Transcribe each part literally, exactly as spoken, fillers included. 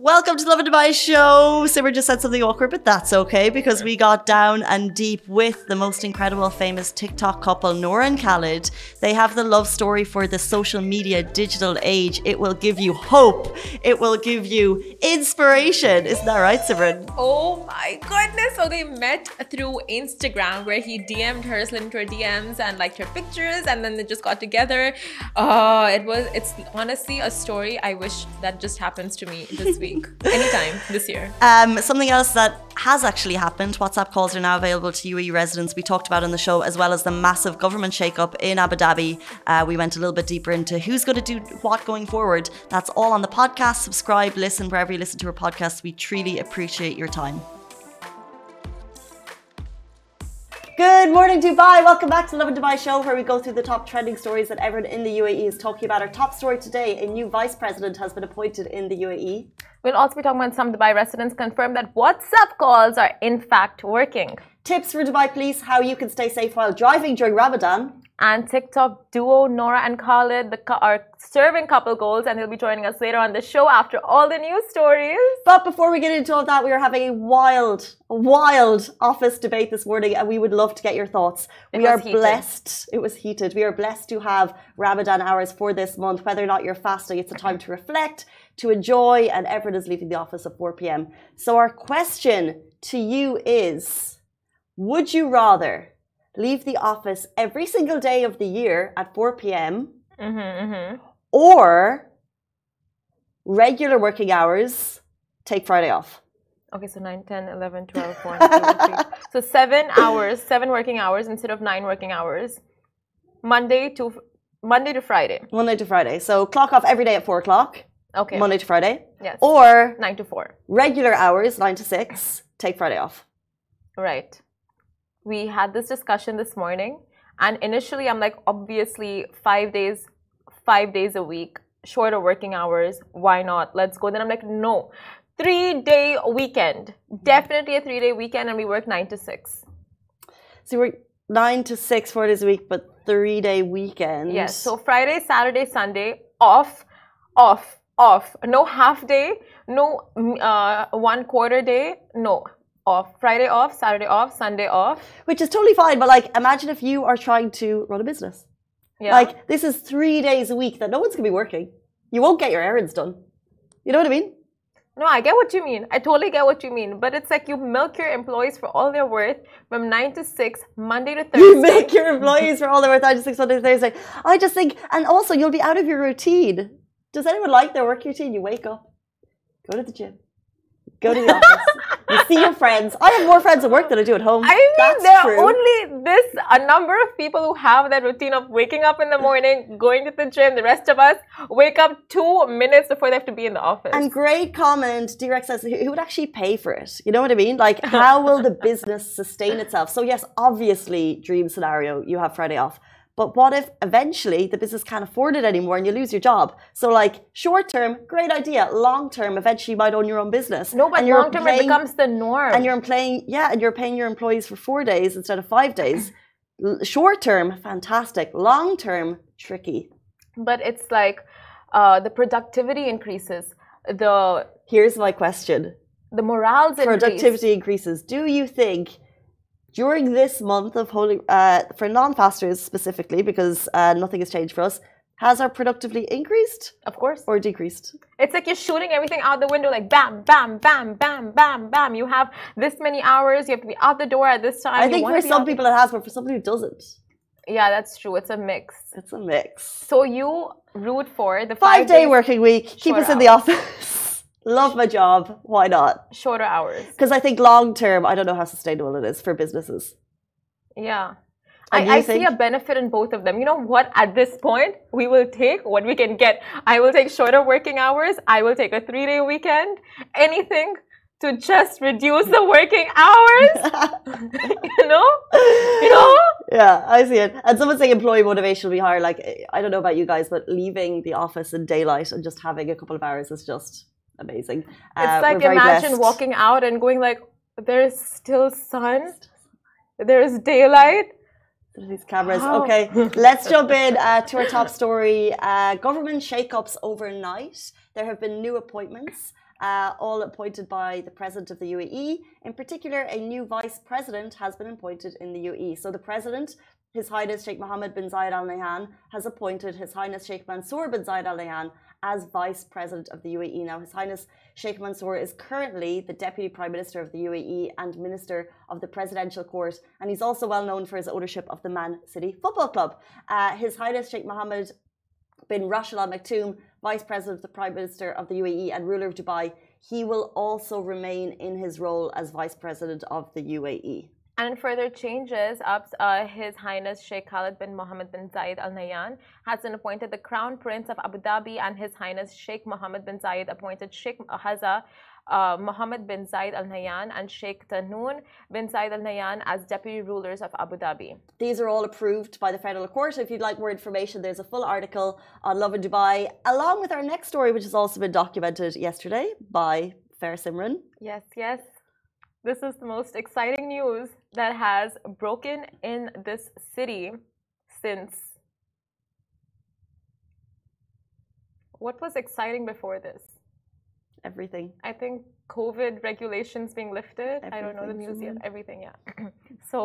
Welcome to the Love and Dubai show. Simmer just said something awkward, but that's okay because we got down and deep with the most incredible, famous TikTok couple, Noura and Khalid. They have the love story for the social media digital age. It will give you hope. It will give you inspiration. Isn't that right, Simran? Oh my goodness. So they met through Instagram where he D M'd her, slid into her D Ms and liked her pictures, and then they just got together. Oh, it was, it's honestly a story I wish that just happens to me this week. Anytime this year. Um, something else that has actually happened, WhatsApp calls are now available to U A E residents. We talked about on the show, as well as the massive government shake-up in Abu Dhabi. Uh, we went a little bit deeper into who's going to do what going forward. That's all on the podcast. Subscribe, listen wherever you listen to our podcast. We truly appreciate your time. Good morning, Dubai. Welcome back to the Love and Dubai show, where we go through the top trending stories that everyone in the U A E is talking about. Our top story today, a new vice president has been appointed in the U A E. We'll also be talking about some Dubai residents confirm that WhatsApp calls are in fact working. Tips for Dubai police, how you can stay safe while driving during Ramadan. And TikTok duo Noura and Khalid the, are serving couple goals, and they'll be joining us later on the show after all the news stories. But before we get into all that, we are having a wild, wild office debate this morning, and we would love to get your thoughts. It we are heated. blessed. It was heated. We are blessed to have Ramadan hours for this month. Whether or not you're fasting, it's a time to reflect, to enjoy, and everyone is leaving the office at four p.m. So our question to you is, would you rather leave the office every single day of the year at four p.m. Mm-hmm, mm-hmm. or regular working hours, take Friday off? Okay, so nine, ten, eleven, twelve, one, two, three. So seven hours, seven working hours instead of nine working hours. Monday to Monday to Friday. Monday to Friday. So clock off every day at four o'clock. Okay. Monday to Friday. Yes. Or nine to four. regular hours, nine to six, take Friday off. Right. We had this discussion this morning, and initially I'm like, obviously five days, five days a week, shorter working hours. Why not? Let's go. Then I'm like, no, three day weekend, definitely a three day weekend, and we work nine to six. So we're nine to six, four days a week, but three day weekend. Yes. So Friday, Saturday, Sunday off, off, off. No half day. No uh, one quarter day. No. Off. Friday off, Saturday off, Sunday off. Which is totally fine, but like, imagine if you are trying to run a business. Yeah. Like, this is three days a week that no one's going to be working. You won't get your errands done. You know what I mean? No, I get what you mean. I totally get what you mean. But it's like you milk your employees for all their worth from nine to six, Monday to Thursday. You make your employees for all their worth, nine to six, Monday to Thursday. I just think, and also you'll be out of your routine. Does anyone like their work routine? You wake up, go to the gym, go to the office. You see your friends. I have more friends at work than I do at home. I mean, That's there true. are only this a number of people who have that routine of waking up in the morning, going to the gym. The rest of us wake up two minutes before they have to be in the office. And great comment. D-Rex says, who would actually pay for it? You know what I mean? Like, how will the business sustain itself? So yes, obviously, dream scenario, you have Friday off. But what if eventually the business can't afford it anymore and you lose your job? So like short term, great idea. Long term, eventually you might own your own business. No, but long term it becomes the norm. And you're paying, yeah, and you're paying your employees for four days instead of five days. Short term, fantastic. Long term, tricky. But it's like uh, the productivity increases. The Here's my question. The morals Productivity increase. increases. Do you think during this month of holy, uh, for non-fasters specifically, because uh, nothing has changed for us, has our productivity increased? Of course. Or decreased? It's like you're shooting everything out the window, like bam, bam, bam, bam, bam, bam. You have this many hours. You have to be out the door at this time. I think for some people it has, but for somebody who doesn't. Yeah, that's true. It's a mix. It's a mix. So you root for the five-day working week. Keep us in the office. Love my job. Why not? Shorter hours. Because I think long term, I don't know how sustainable it is for businesses. Yeah. I, I see a benefit in both of them. You know what? At this point, we will take what we can get. I will take shorter working hours. I will take a three-day weekend. Anything to just reduce the working hours. you know? You know? Yeah, I see it. And someone saying employee motivation will be higher. Like, I don't know about you guys, but leaving the office in daylight and just having a couple of hours is just amazing. It's uh, like imagine blessed. walking out and going like, there's still sun, there's daylight. These cameras. Oh. Okay, let's jump in uh, to our top story. Uh, government shake-ups overnight. There have been new appointments. uh, all appointed by the President of the U A E. In particular, a new Vice President has been appointed in the U A E. So the President, His Highness Sheikh Mohammed bin Zayed Al Nahyan, has appointed His Highness Sheikh Mansour bin Zayed Al Nahyan as Vice President of the U A E. Now, His Highness Sheikh Mansour is currently the Deputy Prime Minister of the U A E and Minister of the Presidential Court, and he's also well known for his ownership of the Man City Football Club. Uh, His Highness Sheikh Mohammed bin Rashid Al Maktoum, Vice President of the Prime Minister of the U A E and ruler of Dubai, he will also remain in his role as Vice President of the U A E. And in further changes, ups, uh, His Highness Sheikh Khalid bin Mohammed bin Zayed Al Nahyan has been appointed the Crown Prince of Abu Dhabi, and His Highness Sheikh Mohammed bin Zayed appointed Sheikh Haza uh, Mohammed bin Zayed Al Nahyan and Sheikh Tahnoon bin Zayed Al Nahyan as Deputy Rulers of Abu Dhabi. These are all approved by the Federal Court. If you'd like more information, there's a full article on Love in Dubai, along with our next story, which has also been documented yesterday by Fair Simran. Yes, yes. This is the most exciting news that has broken in this city since. What was exciting before this? Everything. I think COVID regulations being lifted. Everything. I don't know the news yet. Everything, yeah. So,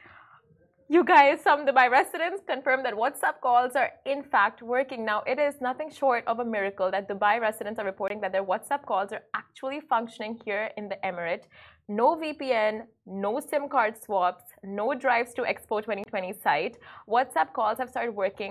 you guys, some Dubai residents confirm that WhatsApp calls are in fact working. Now, it is nothing short of a miracle that Dubai residents are reporting that their WhatsApp calls are actually functioning here in the Emirate. No V P N, no SIM card swaps, no drives to Expo twenty twenty site. WhatsApp calls have started working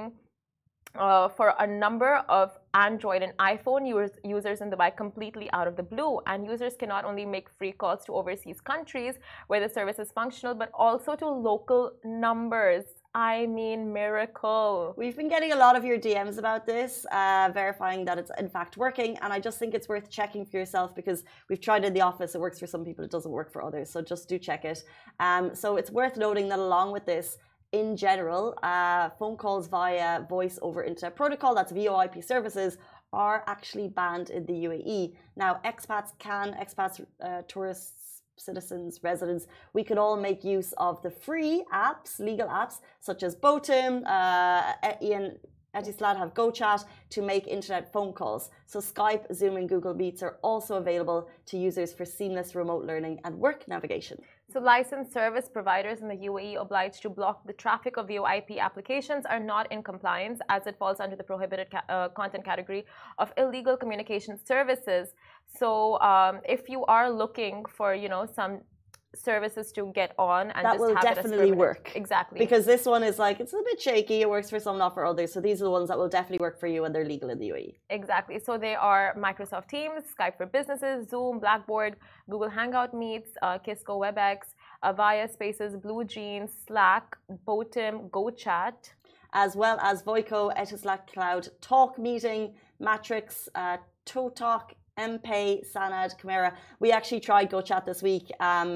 uh, for a number of Android and iPhone use, users in Dubai completely out of the blue. And users can not only make free calls to overseas countries where the service is functional, but also to local numbers. I mean, miracle. We've been getting a lot of your D Ms about this, uh, verifying that it's in fact working. And I just think it's worth checking for yourself because we've tried it in the office. It works for some people. It doesn't work for others. So just do check it. Um, so it's worth noting that along with this, in general, uh, phone calls via voice over internet protocol, that's V O I P services, are actually banned in the U A E. Now, expats can, expats, uh, tourists, citizens, residents, we can all make use of the free apps, legal apps, such as Botim, uh, Ian, Etisalat have GoChat to make internet phone calls. So Skype, Zoom and Google Meets are also available to users for seamless remote learning and work navigation. So licensed service providers in the U A E obliged to block the traffic of V O I P applications are not in compliance as it falls under the prohibited ca uh, content category of illegal communication services. So um, if you are looking for, you know, some services to get on and that just will have definitely it as work. Exactly. Because this one is like, it's a bit shaky. It works for some, not for others. So these are the ones that will definitely work for you and they're legal in the U A E. Exactly. So they are Microsoft Teams, Skype for Businesses, Zoom, Blackboard, Google Hangout Meets, uh, Kisco WebEx, Avaya Spaces, Blue Jeans, Slack, Botim, GoChat. As well as Voico, Etisalat Cloud, Talk Meeting, Matrix, uh, ToTalk, MPay, Sanad, Chimera. We actually tried GoChat this week. Um,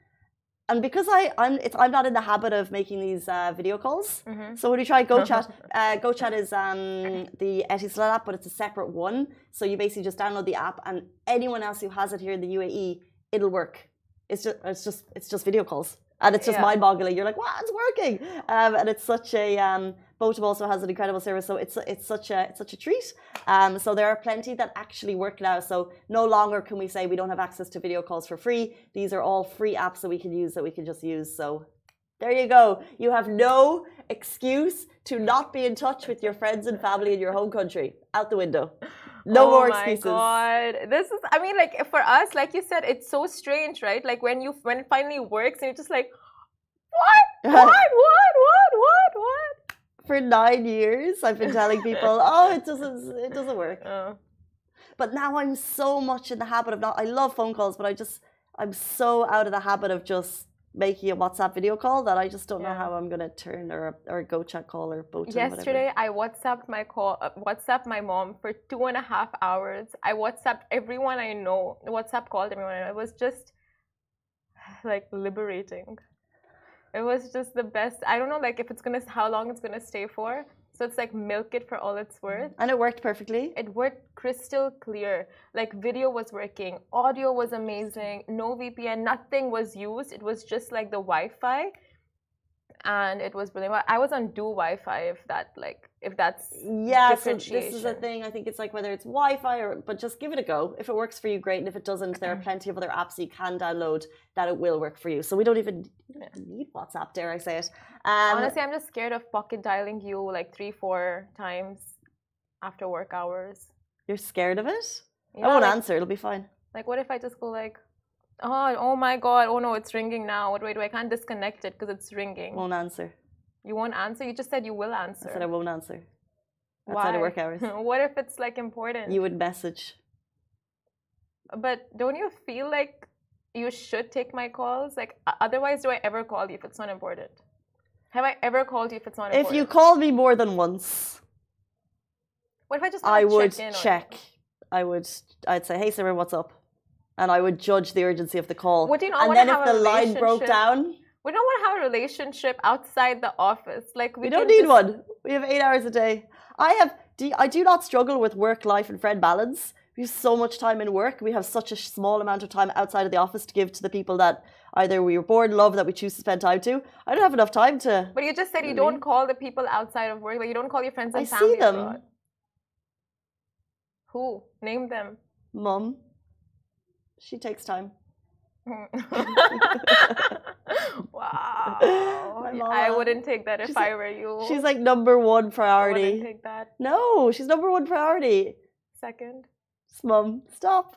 And because I, I'm, it's, I'm not in the habit of making these uh, video calls, mm-hmm. so when we try GoChat, uh, GoChat is um, the Etisalat app, but it's a separate one. So you basically just download the app, and anyone else who has it here in the U A E, it'll work. It's just, it's just, it's just video calls, and it's just yeah. mind-boggling. You're like, wow, it's working, um, and it's such a. Um, Botim also has an incredible service, so it's it's such a it's such a treat. Um, so there are plenty that actually work now. So no longer can we say we don't have access to video calls for free. These are all free apps that we can use that we can just use. So there you go. You have no excuse to not be in touch with your friends and family in your home country. Out the window. No oh more excuses. Oh my God. This is, I mean, like for us, like you said, it's so strange, right? Like when you when it finally works and you're just like, what? What? What? What? What? What? For nine years, I've been telling people, oh, it doesn't, it doesn't work. Oh. But now I'm so much in the habit of not. I love phone calls, but I just, I'm so out of the habit of just making a WhatsApp video call that I just don't yeah. know how I'm gonna turn or or a GoChat call or Botim. Yesterday, whatever. I WhatsApped my call, uh, WhatsApped my mom for two and a half hours. I WhatsApped everyone I know. WhatsApp called everyone I know. It was just like liberating. It was just the best. I don't know, like if it's gonna, how long it's gonna stay for. So it's like milk it for all it's worth. And it worked perfectly. It worked crystal clear. Like video was working, audio was amazing, no V P N, nothing was used. It was just like the Wi-Fi. and it was brilliant. I was on Do Wi-Fi, if that like if that's yeah. So this is a thing. I think it's like whether it's Wi-Fi or, but just give it a go. If it works for you, great. And if it doesn't, there are plenty of other apps you can download that it will work for you. So we don't even need WhatsApp, dare I say it. Um, Honestly, I'm just scared of pocket dialing you like three, four times after work hours. You're scared of it? Yeah, I won't like, answer. It'll be fine. Like, what if I just go like, oh, oh my God, oh no, it's ringing now. What do I do? I can't disconnect it because it's ringing. Won't answer. You won't answer? You just said you will answer. I said I won't answer. Why? Outside of work hours. What if it's like important? You would message. But don't you feel like you should take my calls? Like, otherwise, do I ever call you if it's not important? Have I ever called you if it's not important? If you called me more than once, what if I just I would check in check. I would. I'd say, "Hey, Simran, what's up?" And I would judge the urgency of the call. What do you not and want then to if have the a line broke relationship? down, We don't want to have a relationship outside the office. Like we, we can don't need just... one. We have eight hours a day. I have. Do, I do not struggle with work life and friend balance. We have so much time in work. We have such a small amount of time outside of the office to give to the people that either we were born in love that we choose to spend time to. I don't have enough time to. But you just said you really. don't call the people outside of work. Like you don't call your friends and I family see them. abroad. Who? Name them. Mum. She takes time. Wow. I mama. wouldn't take that if She's I like- were you. She's like number one I priority. wouldn't take that. No, she's number one priority. Second. Mum, stop.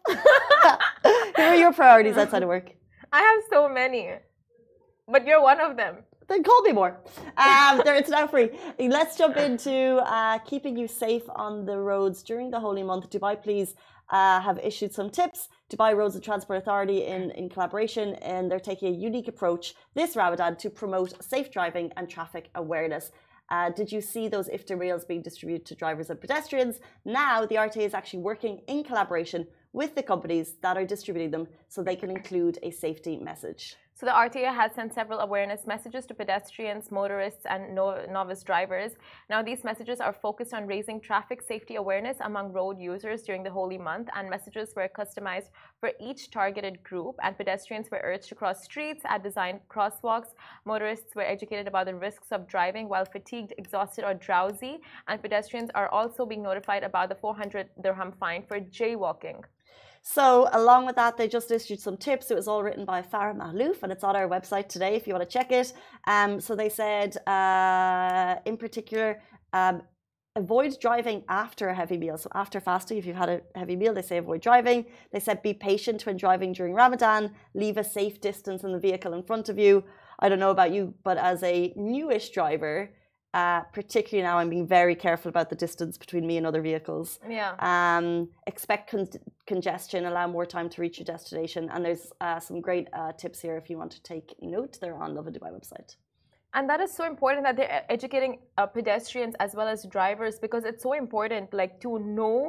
Who are your priorities outside of work? I have so many. But you're one of them. Then call me more. Um, there, it's now free. Let's jump into uh, keeping you safe on the roads during the holy month. Dubai, please, uh, have issued some tips. Dubai Roads and Transport Authority, in, in collaboration, and they're taking a unique approach this Ramadan to promote safe driving and traffic awareness. Uh, did you see those iftar meals being distributed to drivers and pedestrians? Now, the R T A is actually working in collaboration with the companies that are distributing them so they can include a safety message. So the R T A has sent several awareness messages to pedestrians, motorists, and no- novice drivers. Now, these messages are focused on raising traffic safety awareness among road users during the holy month, and messages were customized for each targeted group. And pedestrians were urged to cross streets at designed crosswalks. Motorists were educated about the risks of driving while fatigued, exhausted, or drowsy. And pedestrians are also being notified about the four hundred dirham fine for jaywalking. So, along with that, they just issued some tips. It was all written by Farah Mahlouf, and it's on our website today if you want to check it. Um, so, they said, uh, in particular, um, avoid driving after a heavy meal. So, after fasting, if you've had a heavy meal, they say avoid driving. They said be patient when driving during Ramadan. Leave a safe distance in the vehicle in front of you. I don't know about you, but as a newish driver, Uh, particularly now, I'm being very careful about the distance between me and other vehicles. Yeah. Um, expect con- congestion, allow more time to reach your destination. And there's uh, some great uh, tips here if you want to take note. They're on Lovin Dubai website. And that is so important that they're educating uh, pedestrians as well as drivers, because it's so important, like, to know.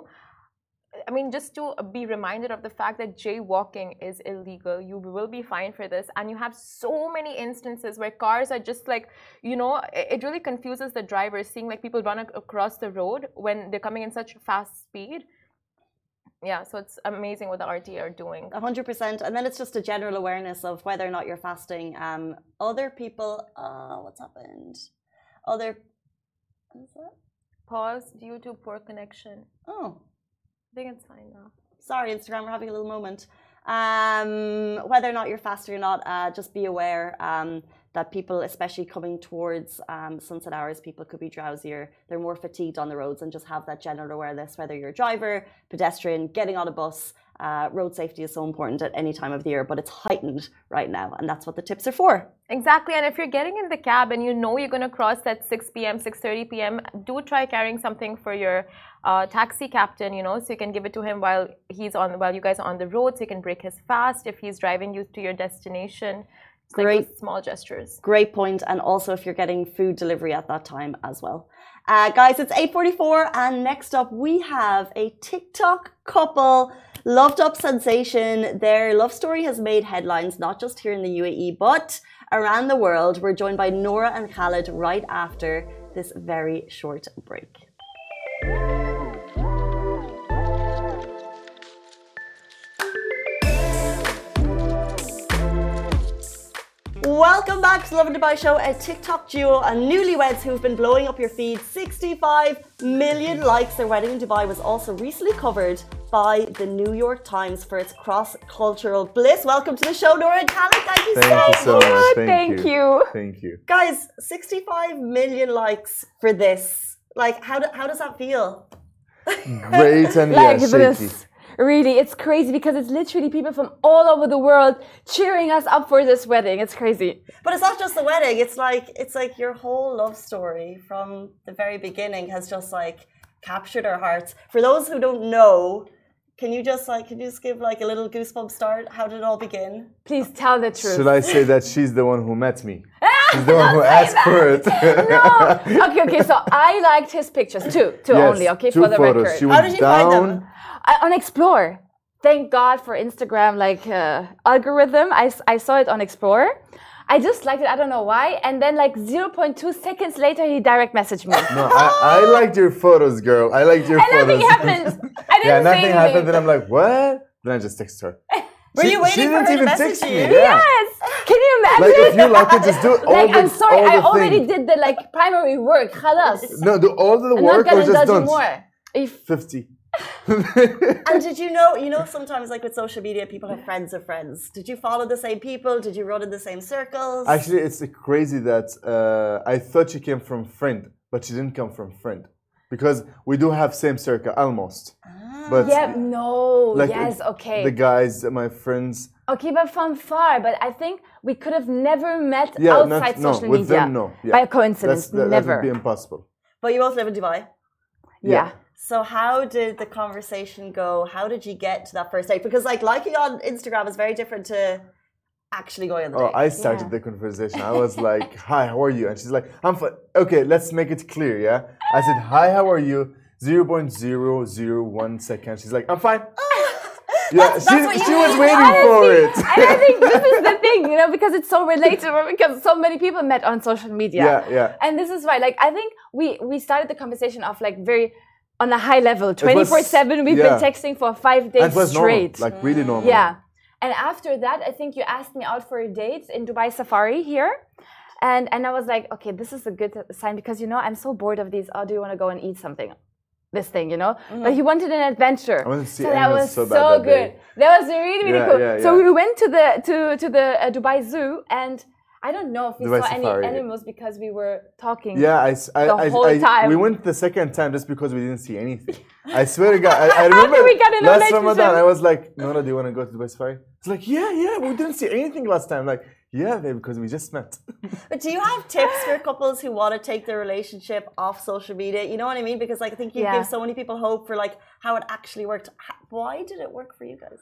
I mean, just to be reminded of the fact that jaywalking is illegal. You will be fined for this. And you have so many instances where cars are just like, you know, it really confuses the drivers seeing like people run across the road when they're coming in such fast speed. Yeah, so it's amazing what the R T A are doing. one hundred percent. And then it's just a general awareness of whether or not you're fasting. Um, other people, uh, what's happened? Other, what's that? Pause due to poor connection. Oh. I think it's fine now. Sorry, Instagram, we're having a little moment. Um, whether or not you're fasting or not, uh, just be aware um, that people, especially coming towards um, sunset hours, people could be drowsier. They're more fatigued on the roads, and just have that general awareness, whether you're a driver, pedestrian, getting on a bus. Uh, road safety is so important at any time of the year, but it's heightened right now, and that's what the tips are for. Exactly, and if you're getting in the cab and you know you're going to cross at six p m, six thirty p m, do try carrying something for your uh, taxi captain, you know, so you can give it to him while he's on, while you guys are on the road, so you can break his fast if he's driving you to your destination. It's Great. Like small gestures. Great point, and also if you're getting food delivery at that time as well. Uh, guys, it's eight forty-four, and next up we have a TikTok couple. Loved up sensation. Their love story has made headlines, not just here in the U A E, but around the world. We're joined by Nora and Khaled right after this very short break. Welcome back to the Lovin Dubai Show, a TikTok duo and newlyweds who've been blowing up your feed. sixty-five million likes. Their wedding in Dubai was also recently covered by the New York Times for its cross-cultural bliss. Welcome to the show, Noura and Khaled. Thank you Thank so you so much. much. Thank, Thank you. you. Thank you. Guys, sixty-five million likes for this. Like, how, do, how does that feel? Great and yeah, Like shaky. this. Really, it's crazy because it's literally people from all over the world cheering us up for this wedding. It's crazy. But it's not just the wedding. It's like it's like your whole love story from the very beginning has just like captured our hearts. For those who don't know, can you just like can you just give like a little goosebump start? How did it all begin? Please tell the truth. Should I say that she's the one who met me? She's the one who asked for it. No. Okay, okay. So I liked his pictures too, two Yes, only. Okay, two for the photos. record. She How went did you find down. them? I, on Explore. Thank God for Instagram, like uh, algorithm. I, s- I saw it on Explore. I just liked it. I don't know why. And then like zero point two seconds later, he direct messaged me. No, I, I liked your photos, girl. I liked your And photos. nothing happened. I didn't Yeah, say nothing anything. happened. Then I'm like, what? Then I just text her. Were She- you waiting she for didn't her to even message text you? me. Yeah. Yes. Can you imagine? Like if you like it, just do all like, the I'm sorry, all I the already thing. did the like primary work. Khalas. No, do all the I'm work not or gonna just indulge you don't. more. If Fifty. And did you know, you know, sometimes like with social media, people have friends of friends. Did you follow the same people? Did you run in the same circles? Actually, it's crazy that uh, I thought she came from friend, but she didn't come from friend, because we do have same circle almost. But yeah, no, like yes, it- okay. the guys, my friends, Okay, but from far. But I think we could have never met yeah, outside not, no, social with media them, no, yeah. by coincidence. That's, that, never. that would be impossible. But you both live in Dubai. yeah. So how did the conversation go? How did you get to that first date? Because like liking on Instagram is very different to actually going on the Oh, date. I started Yeah. the conversation. I was like, "Hi, how are you?" And she's like, "I'm fine." Okay, let's make it clear, yeah. I said, "Hi, how are you?" zero point zero zero one second. She's like, "I'm fine." Yeah, That's- she, that's what you she was need. waiting for it. And I think this is the thing, you know, because it's so relatable, because so many people met on social media. Yeah, yeah. And this is why, like, I think we we started the conversation off like very on a high level, twenty-four seven. We've yeah. been texting for five And days it was straight. normal, like really normal. Yeah. And after that, I think you asked me out for a date in Dubai Safari here. And and I was like, okay, this is a good sign because, you know, I'm so bored of these. Oh, do you want to go and eat something? This thing, you know? But he wanted an adventure. I wanted to see so that animals was so so, bad that day. good. That was really, really Yeah, cool. yeah, So yeah. we went to the to to the uh, Dubai Zoo, and I don't know if we Dubai saw Safari. any animals because we were talking. Yeah, I, s- I, The I- whole I- time. we went the second time just because we didn't see anything. I swear to God, I, I remember we got in a last relationship? Ramadan, I was like, Nora, do you want to go to Dubai Safari? It's like, yeah, yeah, we didn't see anything last time. Like, yeah, babe, because we just met. But do you have tips for couples who want to take their relationship off social media? You know what I mean? Because like I think you Yeah. give so many people hope for like how it actually worked. H- Why did it work for you guys?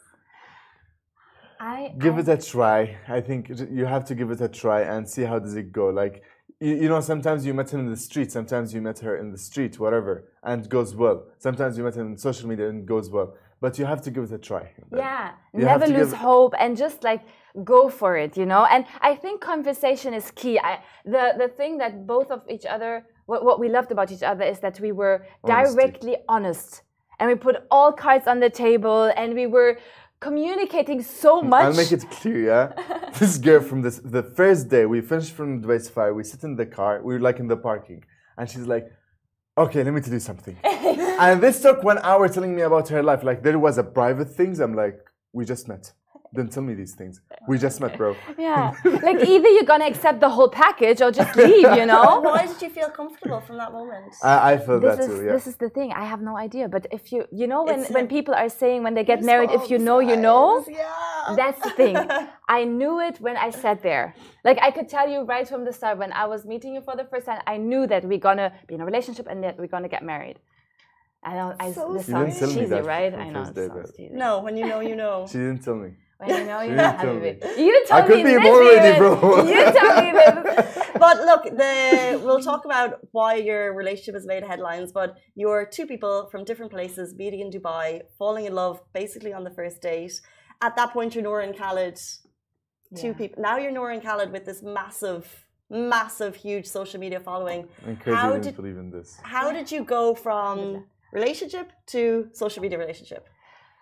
I Give I, it a try. I think j- you have to give it a try and see how does it go. Like, you, you know, sometimes you met him in the street, sometimes you met her in the street, whatever, and it goes well. Sometimes you met him on social media and it goes well. But you have to give it a try. Yeah, You have never to lose give- hope and just like go for it, you know. And I think conversation is key. I, the the thing that both of each other, what, what we loved about each other is that we were Honesty. directly honest, and we put all cards on the table, and we were communicating so much. I'll make it clear, yeah. This girl from this the first day we finished from Dubai Safari, we sit in the car, we were like in the parking, and she's like, "Okay, let me tell you something." And this took one hour telling me about her life. Like there was a private things. I'm like, we just met. Don't tell me these things. We just met, bro. Yeah, like either you're gonna accept the whole package or just leave, you know. Why did you feel comfortable from that moment? I, I feel This that is too. Yeah. this is the thing. I have no idea. But if you you know when It's when a- people are saying when they get married, if you know, you know. Yeah. That's the thing. I knew it when I sat there. Like I could tell you right from the start when I was meeting you for the first time, I knew that we're gonna be in a relationship and that we're gonna get married. I know I So this You sounds didn't tell me cheesy, that right? from I know first it day, sounds but- cheesy. No, when you know, you know. She didn't tell me. When you know you You know, didn't tell Habibi. me. You told I could me be this already, even. bro. You told me this. But look, the we'll talk about why your relationship has made headlines. But you're two people from different places meeting in Dubai, falling in love basically on the first date. At that point, you're Noura and Khaled, two Yeah. people. Now you're Noura and Khaled with this massive, massive, huge social media following. I'm crazy. How I didn't did- believe in this. How did you go from relationship to social media relationship?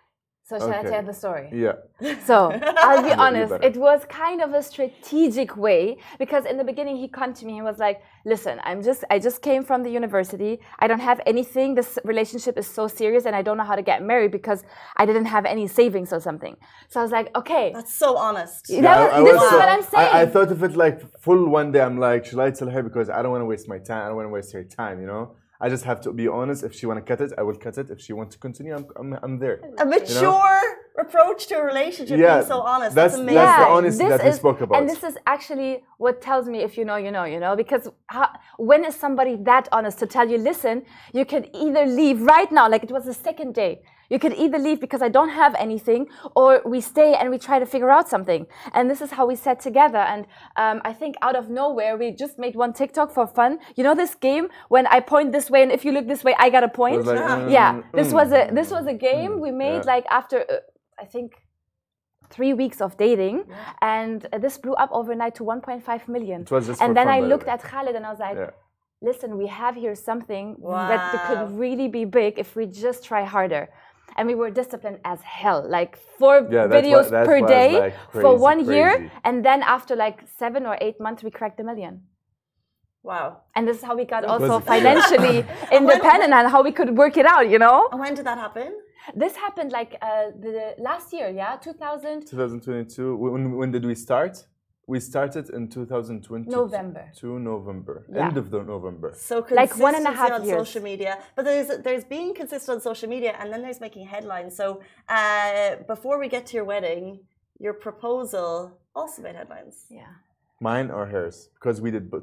So shall Okay. I tell the story? Yeah. So I'll be You honest, better. it was kind of a strategic way because in the beginning he came to me and was like, "Listen, I'm just I just came from the university. I don't have anything. This relationship is so serious, and I don't know how to get married because I didn't have any savings or something." So I was like, "Okay." That's so honest. Yeah. That was- I this was is so- what I'm saying. I, I thought of it like full one day. I'm like, should I tell her because I don't want to waste my time. I don't want to waste her time. You know. I just have to be honest. If she want to cut it, I will cut it. If she wants to continue, I'm I'm, I'm there. A mature approach to a relationship, Yeah, being so honest. that's- That's, amazing. that's the honesty this that we is- spoke about. And this is actually what tells me if you know, you know, you know, because how, when is somebody that honest to tell you, listen, you could either leave right now, like it was the second day. You could either leave because I don't have anything, or we stay and we try to figure out something. And this is how we sat together. And um, I think out of nowhere, we just made one TikTok for fun. You know this game when I point this way and if you look this way, I got a It point. was like, mm, yeah, this mm. was a this was a game we made yeah. like after uh, I think three weeks of dating, and uh, this blew up overnight to one point five million. It was just And for then fun, I by the looked way. at Khalid and I was like, Yeah. listen, we have here something that could Wow. really be big if we just try harder. And we were disciplined as hell, like four Yeah, that's videos why- that's per why I was day like for crazy, one year. crazy. And then after like seven or eight months, we cracked a million. Wow. And this is how we got Was also it? financially independent and how we could work it out, you know? And when did that happen? This happened like uh, the last year, yeah, two thousand. twenty twenty-two. When when did we start? We started in two thousand twenty. November. To November. Yeah. End of the November. So Like one and a consistency half on years. social media, but there's there's being consistent on social media, and then there's making headlines. So uh, before we get to your wedding, your proposal also made headlines. Yeah. Mine or hers? Because we did both.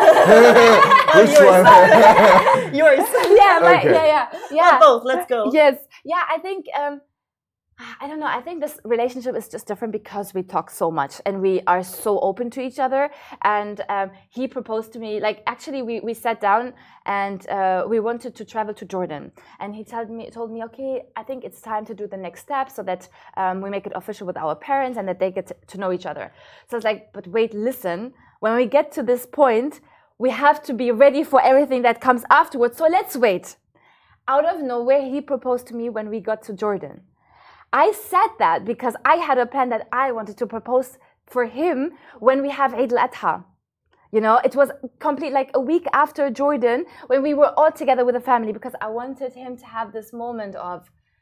Which one? Yours. Yeah, my, Okay. yeah, yeah, Well, yeah. both. Let's go. Yes, yeah. I think um, I don't know. I think this relationship is just different because we talk so much and we are so open to each other. And um, he proposed to me. Like actually, we we sat down and uh, we wanted to travel to Jordan. And he told me told me, okay, I think it's time to do the next step so that um, we make it official with our parents and that they get to, to know each other. So I was like, but wait, listen. When we get to this point, we have to be ready for everything that comes afterwards. So let's wait. Out of nowhere, he proposed to me when we got to Jordan. I said that because I had a plan that I wanted to propose for him when we have Eid al-Adha. You know, it was complete like a week after Jordan when we were all together with the family because I wanted him to have this moment of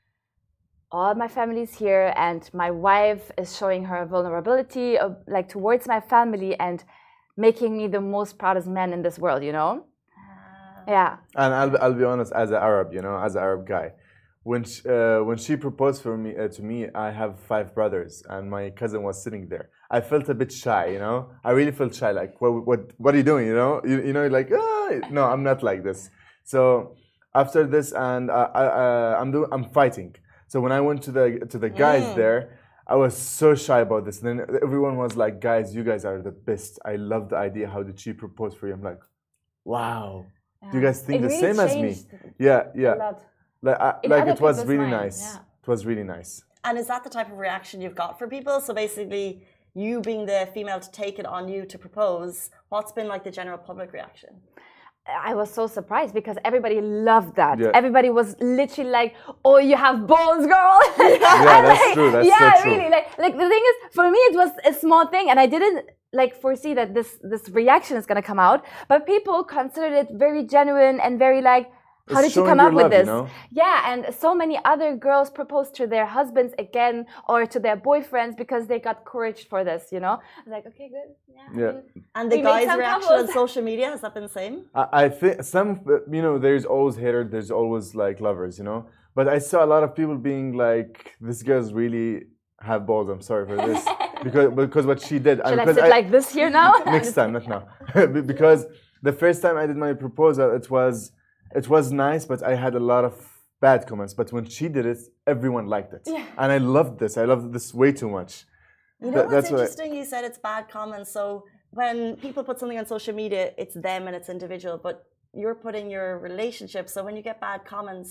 all my family's here and my wife is showing her vulnerability of, like towards my family and making me the most proudest man in this world, you know? Yeah. And I'll be- I'll be honest, as an Arab, you know, as an Arab guy, when she, uh, when she proposed for me uh, to me, I have five brothers, and my cousin was sitting there. I felt a bit shy, you know. I really felt shy, like, what what what are you doing, you know? You, you know, like, ah, no, I'm not like this. So after this, and I, I, uh, I'm doing, I'm fighting. So when I went to the to the guys there, I was so shy about this. And then everyone was like, guys, you guys are the best. I love the idea. How did she propose for you? I'm like, wow. Do you guys think It the really same as me? changed Yeah, yeah. a lot. Like, I, In like other it was people's really minds, nice. yeah. It was really nice. And is that the type of reaction you've got for people? So basically, you being the female to take it on you to propose, what's been like the general public reaction? I was so surprised because everybody loved that. Yeah. Everybody was literally like, "Oh, you have balls, girl!" Yeah, And that's like, true. That's yeah, so true. really. Like, like the thing is, for me, it was a small thing, and I didn't like foresee that this this reaction is gonna come out. But people considered it very genuine and very like, how It's did you showing come your up with love, you this? know? Yeah, and so many other girls proposed to their husbands again or to their boyfriends because they got courage for this, you know? I was like, okay, good. Yeah. I Yeah. mean, And the We made guys' some reaction couples. on social media, has that been the same? I, I think some, you know, there's always haters, there's always like lovers, you know. But I saw a lot of people being like, "This girl's really have balls." I'm sorry for this because because what she did. Should I because sit like this here now? next time, not now, because the first time I did my proposal, it was it was nice, but I had a lot of bad comments. But when she did it, everyone liked it, Yeah. and I loved this. I loved this way too much. You know That- what's that's what I- interesting? You said it's bad comments. So when people put something on social media, it's them and it's individual, but you're putting your relationship. So when you get bad comments,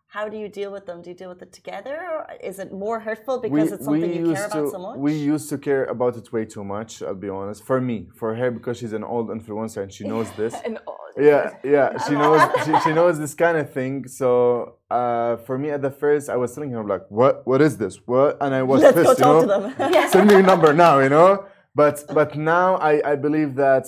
how do you deal with them? Do you deal with it together, or is it more hurtful because it's something you care about to, so much? We used to care about it way too much, I'll be honest. For me, for her, because she's an old influencer and she knows this. And all Yeah, yeah, she knows she, she knows this kind of thing. So uh, for me, at the first, I was telling her like, "What? What is this? What?" And I was Let's pissed, go you talk know. to them. Send me your number now, you know. But but now I I believe that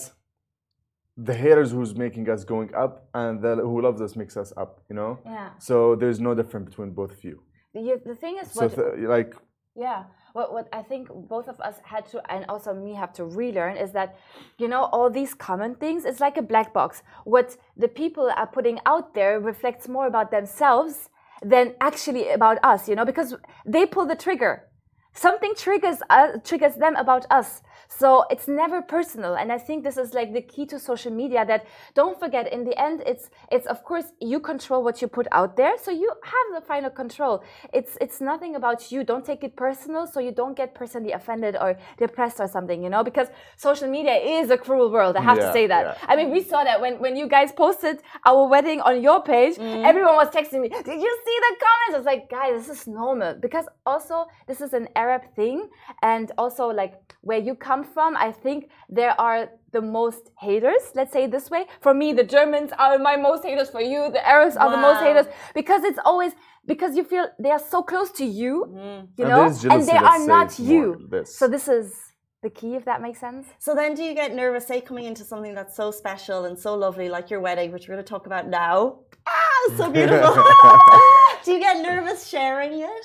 the haters who's making us going up and the who loves us makes us up, you know. Yeah. So there's no difference between both of you. The, the thing is, So what, th- like. yeah, what what I think both of us had to, and also me have to relearn, is that, you know, all these common things, it's like a black box. What the people are putting out there reflects more about themselves than actually about us, you know, because they pull the trigger. Something triggers us, triggers them about us. So it's never personal, and I think this is like the key to social media. That don't forget, in the end, it's it's of course you control what you put out there, so you have the final control. It's it's nothing about you. Don't take it personal, so you don't get personally offended or depressed or something, you know. Because social media is a cruel world. I have Yeah, to say that. yeah. I mean, we saw that when when you guys posted our wedding on your page, everyone was texting me. Did you see the comments? I was like, guys, this is normal, because also this is an Arab thing, and also like where you come from, I think there are the most haters, let's say it this way. For me, the Germans are my most haters. For you, the Arabs are the most Wow. haters, because it's always, because you feel they are so close to you, you And know, there's and they jealousy, are let's not say, you. more, this. So this is the key, if that makes sense. So then, do you get nervous, say, coming into something that's so special and so lovely, like your wedding, which we're going to talk about now? Ah, so beautiful. Do you get nervous sharing it?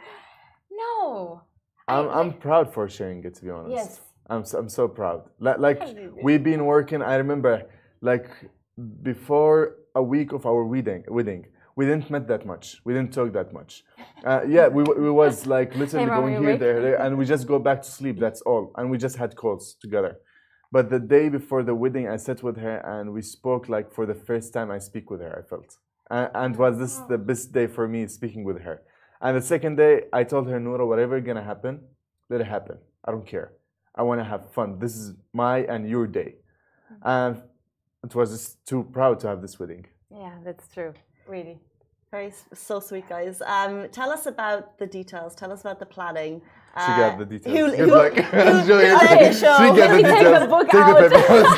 No. I'm I'm proud for sharing it, to be honest. Yes. I'm so, I'm so proud. Like, like we've been working. I remember, like before a week of our wedding, wedding, we didn't met that much. We didn't talk that much. Uh, yeah, we we was like literally Hey, Mom, going you here, awake? there, there, and we just go back to sleep. That's all. And we just had calls together. But the day before the wedding, I sat with her and we spoke like for the first time I speak with her. I felt, and, and was this the best day for me speaking with her. And the second day, I told her, Noura, whatever gonna happen, let it happen. I don't care. I want to have fun. This is my and your day. And it was just too proud to have this wedding. Yeah, that's true. Really. Very s- so sweet, guys. Um, tell us about the details. Tell us about the planning. She Uh, got the details. who- Good who- luck. who- Julia, Okay, show. she got Let the me take details. the book Take out. the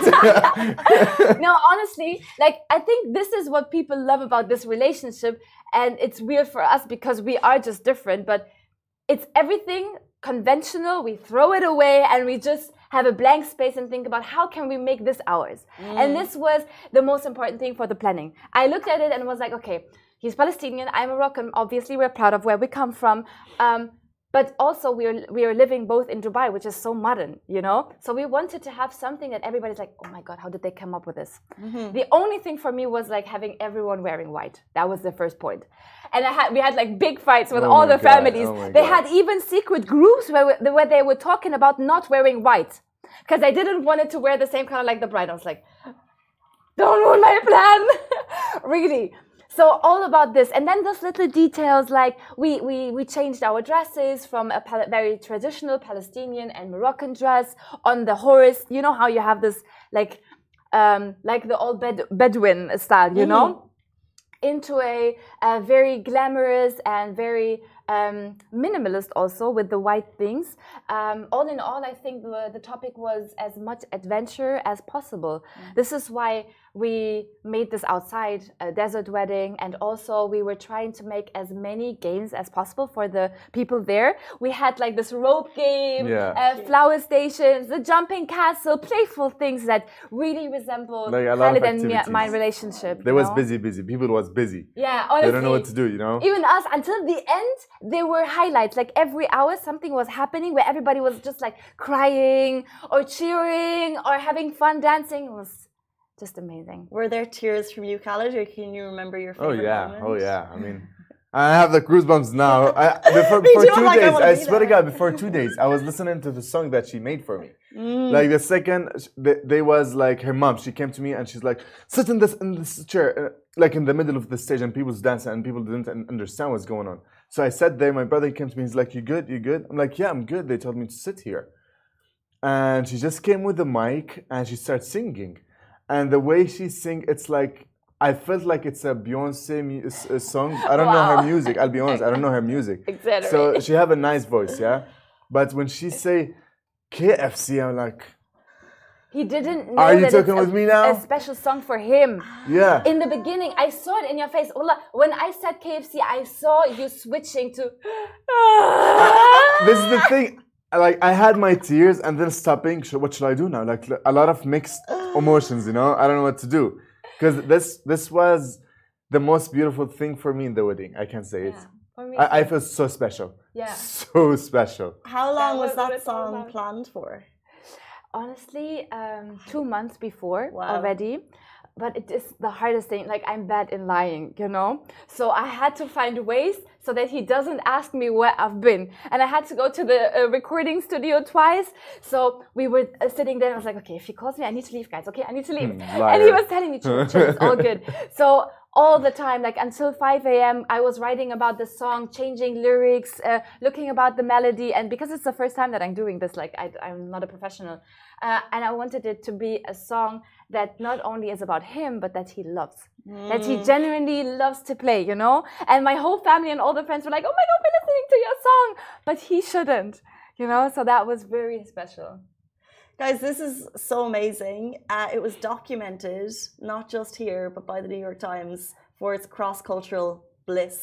paper. No, honestly, like I think this is what people love about this relationship, and it's weird for us because we are just different, but it's everything conventional. We throw it away and we just have a blank space and think about how can we make this ours. And this was the most important thing for the planning. I looked at it and was like, okay, he's Palestinian, I'm Moroccan, obviously we're proud of where we come from. Um, But also we are we are living both in Dubai, which is so modern, you know. So we wanted to have something that everybody's like, oh my god, how did they come up with this? Mm-hmm. The only thing for me was like having everyone wearing white. That was the first point. And I had we had like big fights with Oh all my the God, families. oh my They God. had even secret groups where we- where they were talking about not wearing white because I didn't want it to wear the same color like the bride. I was like, don't ruin my plan, really. So all about this, and then those little details like we we we changed our dresses from a pal- very traditional Palestinian and Moroccan dress on the horse. You know how you have this like um, like the old Bed- Bedouin style, you know, into a, a very glamorous and very um, minimalist also with the white things. Um, all in all, I think the, the topic was as much adventure as possible. Mm. This is why we made this outside, a desert wedding, and also we were trying to make as many games as possible for the people there. We had like this rope game, Yeah. uh, flower stations, the jumping castle, playful things that really resemble Like a lot of Khalid and me, activities. my relationship. They you was know? busy, busy. People was busy. Yeah, honestly. They don't know what to do, you know? Even us, until the end, there were highlights. Like every hour, something was happening where everybody was just like crying or cheering or having fun dancing. It was just amazing. Were there tears from you, Khalid, or can you remember your Oh favorite yeah, moment? oh yeah. I mean, I have the goosebumps now. I, before Me for too, I'm two like, I days, wanna I, be swear to there. God, before two days, I was listening to the song that she made for me. Mm. Like the second, they, they was like her mom. She came to me and she's like, sit in this in this chair, uh, like in the middle of the stage, and people's dancing, and people didn't un- understand what's going on. So I sat there. My brother came to me. He's like, "You good? You good?" I'm like, "Yeah, I'm good." They told me to sit here, and she just came with the mic and she started singing, and the way she sing, it's like I felt like it's a Beyonce mu- s- uh, song. I don't know her Wow. music. I'll be honest. I don't know her music. Exactly. So she have a nice voice, yeah. But when she say K F C, I'm like, He didn't know Are you that talking it's with a, me now? a special song for him. yeah. In the beginning, I saw it in your face. Ola, when I said K F C, I saw you switching to. This is the thing. Like I had my tears and then stopping. Sh- What should I do now? Like a lot of mixed emotions, you know. I don't know what to do because this this was the most beautiful thing for me in the wedding. I can say it. For me I, I too. feel so special. Yeah. So special. How long That was was what that it's all song about. planned for? Honestly, um, two months before Wow. already. But it is the hardest thing. Like, I'm bad in lying, you know? So I had to find ways so that he doesn't ask me where I've been. And I had to go to the uh, recording studio twice. So we were uh, sitting there and I was like, okay, if he calls me, I need to leave, guys. Okay, I need to leave. Hmm, and he liar. was telling me, chill, chill, it's all good. So all the time, like until five a.m., I was writing about the song, changing lyrics, uh, looking about the melody. And because it's the first time that I'm doing this, like I, I'm not a professional. Uh, and I wanted it to be a song that not only is about him, but that he loves. Mm. That he genuinely loves to play, you know? And my whole family and all the friends were like, oh my God, we're listening to your song. But he shouldn't, you know? So that was very special. Guys, this is so amazing. Uh, it was documented, not just here, but by the New York Times for its cross-cultural bliss.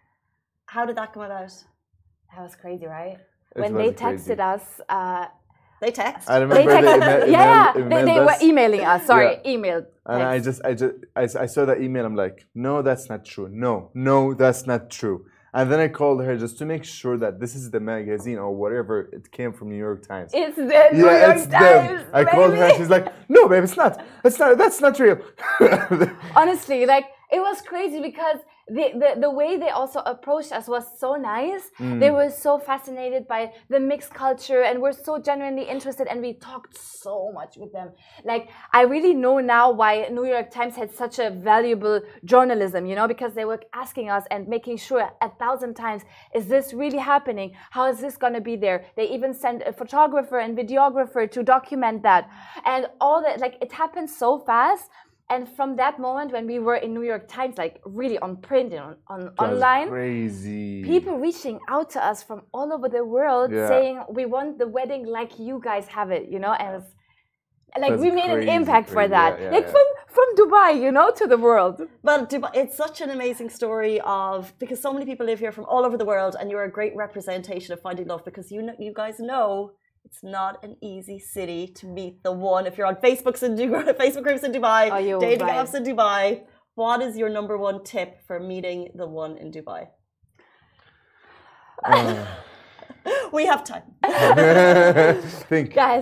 How did that come about? That was crazy, right? It When was they crazy. texted us, uh, They text. I remember they they, texted, email, yeah, email, they, they emailed were us. emailing us. Sorry, Yeah. emailed. And I text. just, I just, I, I saw that email. I'm like, no, that's not true. No, no, that's not true. And then I called her just to make sure that this is the magazine or whatever it came from New York Times. It's the New yeah, York it's Times. them. I called her. baby. She's like, no, babe, it's not. It's not. That's not real. Honestly, like it was crazy because the, the, the way they also approached us was so nice. Mm. They were so fascinated by the mixed culture and were so genuinely interested, and we talked so much with them. Like, I really know now why New York Times had such a valuable journalism, you know, because they were asking us and making sure a thousand times, is this really happening? How is this going to be there? They even sent a photographer and videographer to document that. And all that, like, it happened so fast. And from that moment when we were in New York Times, like really on print and on, on That's online, crazy. people reaching out to us from all over the world Yeah. saying, we want the wedding like you guys have it, you know? And it was, like That's we made crazy, an impact for crazy. that. Yeah, yeah, like yeah. from from Dubai, you know, to the world. But Dubai, it's such an amazing story of, because so many people live here from all over the world, and you're a great representation of finding love, because you know, you guys know it's not an easy city to meet the one. If you're on Facebooks in Dubai, Facebook groups in Dubai, Oh, you're dating right. apps in Dubai, what is your number one tip for meeting the one in Dubai? Uh, We have time. think. Guys,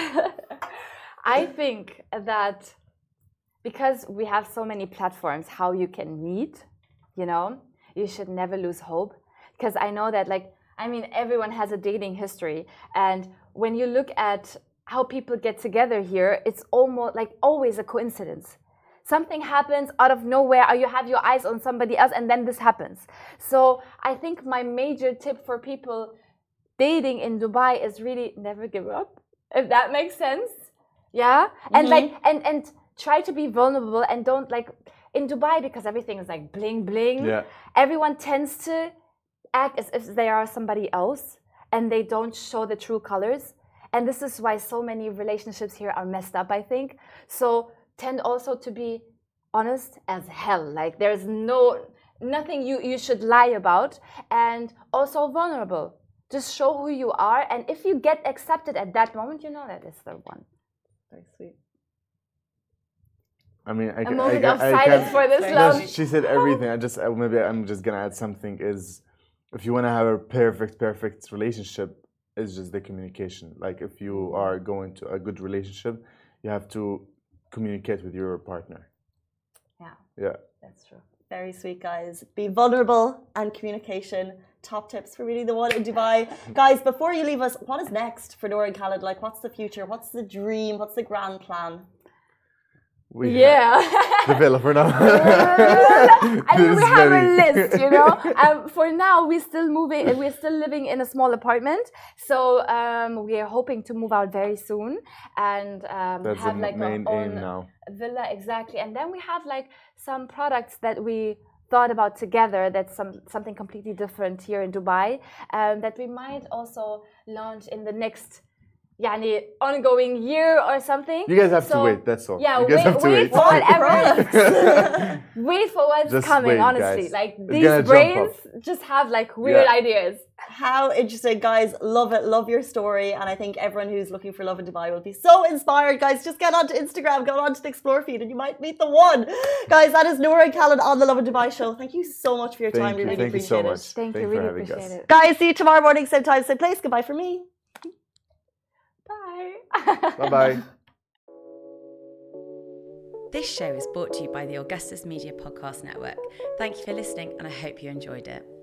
I think that because we have so many platforms how you can meet, you know, you should never lose hope. Because I know that, like, I mean, everyone has a dating history. And when you look at how people get together here, it's almost like always a coincidence. Something happens out of nowhere, or you have your eyes on somebody else, and then this happens. So I think my major tip for people dating in Dubai is really never give up, if that makes sense. Yeah. And Mhm. like, and, and try to be vulnerable, and don't, like, in Dubai, because everything is like bling bling, Yeah. everyone tends to act as if they are somebody else, and they don't show the true colors. And this is why so many relationships here are messed up, I think. So tend also to be honest as hell. Like, there's no, nothing you, you should lie about, and also vulnerable. Just show who you are. And if you get accepted at that moment, you know that it's the one. Very sweet. I mean, I, A ca- moment I, ca- of I silence can- for this Very No, love. nice. she said everything. I just uh, maybe I'm just gonna add something. Is if you want to have a perfect, perfect relationship, it's just the communication. Like if you are going to a good relationship, you have to communicate with your partner. Yeah, Yeah. that's true. Very sweet, guys. Be vulnerable and communication. Top tips for meeting the one in Dubai. Guys, before you leave us, what is next for Noor and Khaled? Like, what's the future? What's the dream? What's the grand plan? We Yeah. have the villa for now. I mean, we This have very- a list, you know. Um, for now, we're still moving. We're still living in a small apartment, so um, we are hoping to move out very soon and um, That's have the like main our aim own now. villa, exactly. And then we have like some products that we thought about together. That's some something completely different here in Dubai, um, that we might also launch in the next. Yani, ongoing year or something. You guys have So, to wait. That's all. Yeah, you guys wait, have to wait wait. for whatever. Wait for what's Just coming. wait, honestly, guys. like It's these gonna jump brains up. just have like weird Yeah. ideas. How interesting, guys. Love it. Love your story. And I think everyone who's looking for love in Dubai will be so inspired. Guys, just get onto Instagram, go onto the Explore feed, and you might meet the one. Guys, that is Noura and Khaled on the Love in Dubai show. Thank you so much for your Thank time. We you. really Thank you so appreciate much. it. Thank Thank you, you for really having appreciate us. it. Guys, see you tomorrow morning, same time, same place. Goodbye from me. Bye. Bye bye. This show is brought to you by the Augustus Media Podcast Network. Thank you for listening, and I hope you enjoyed it.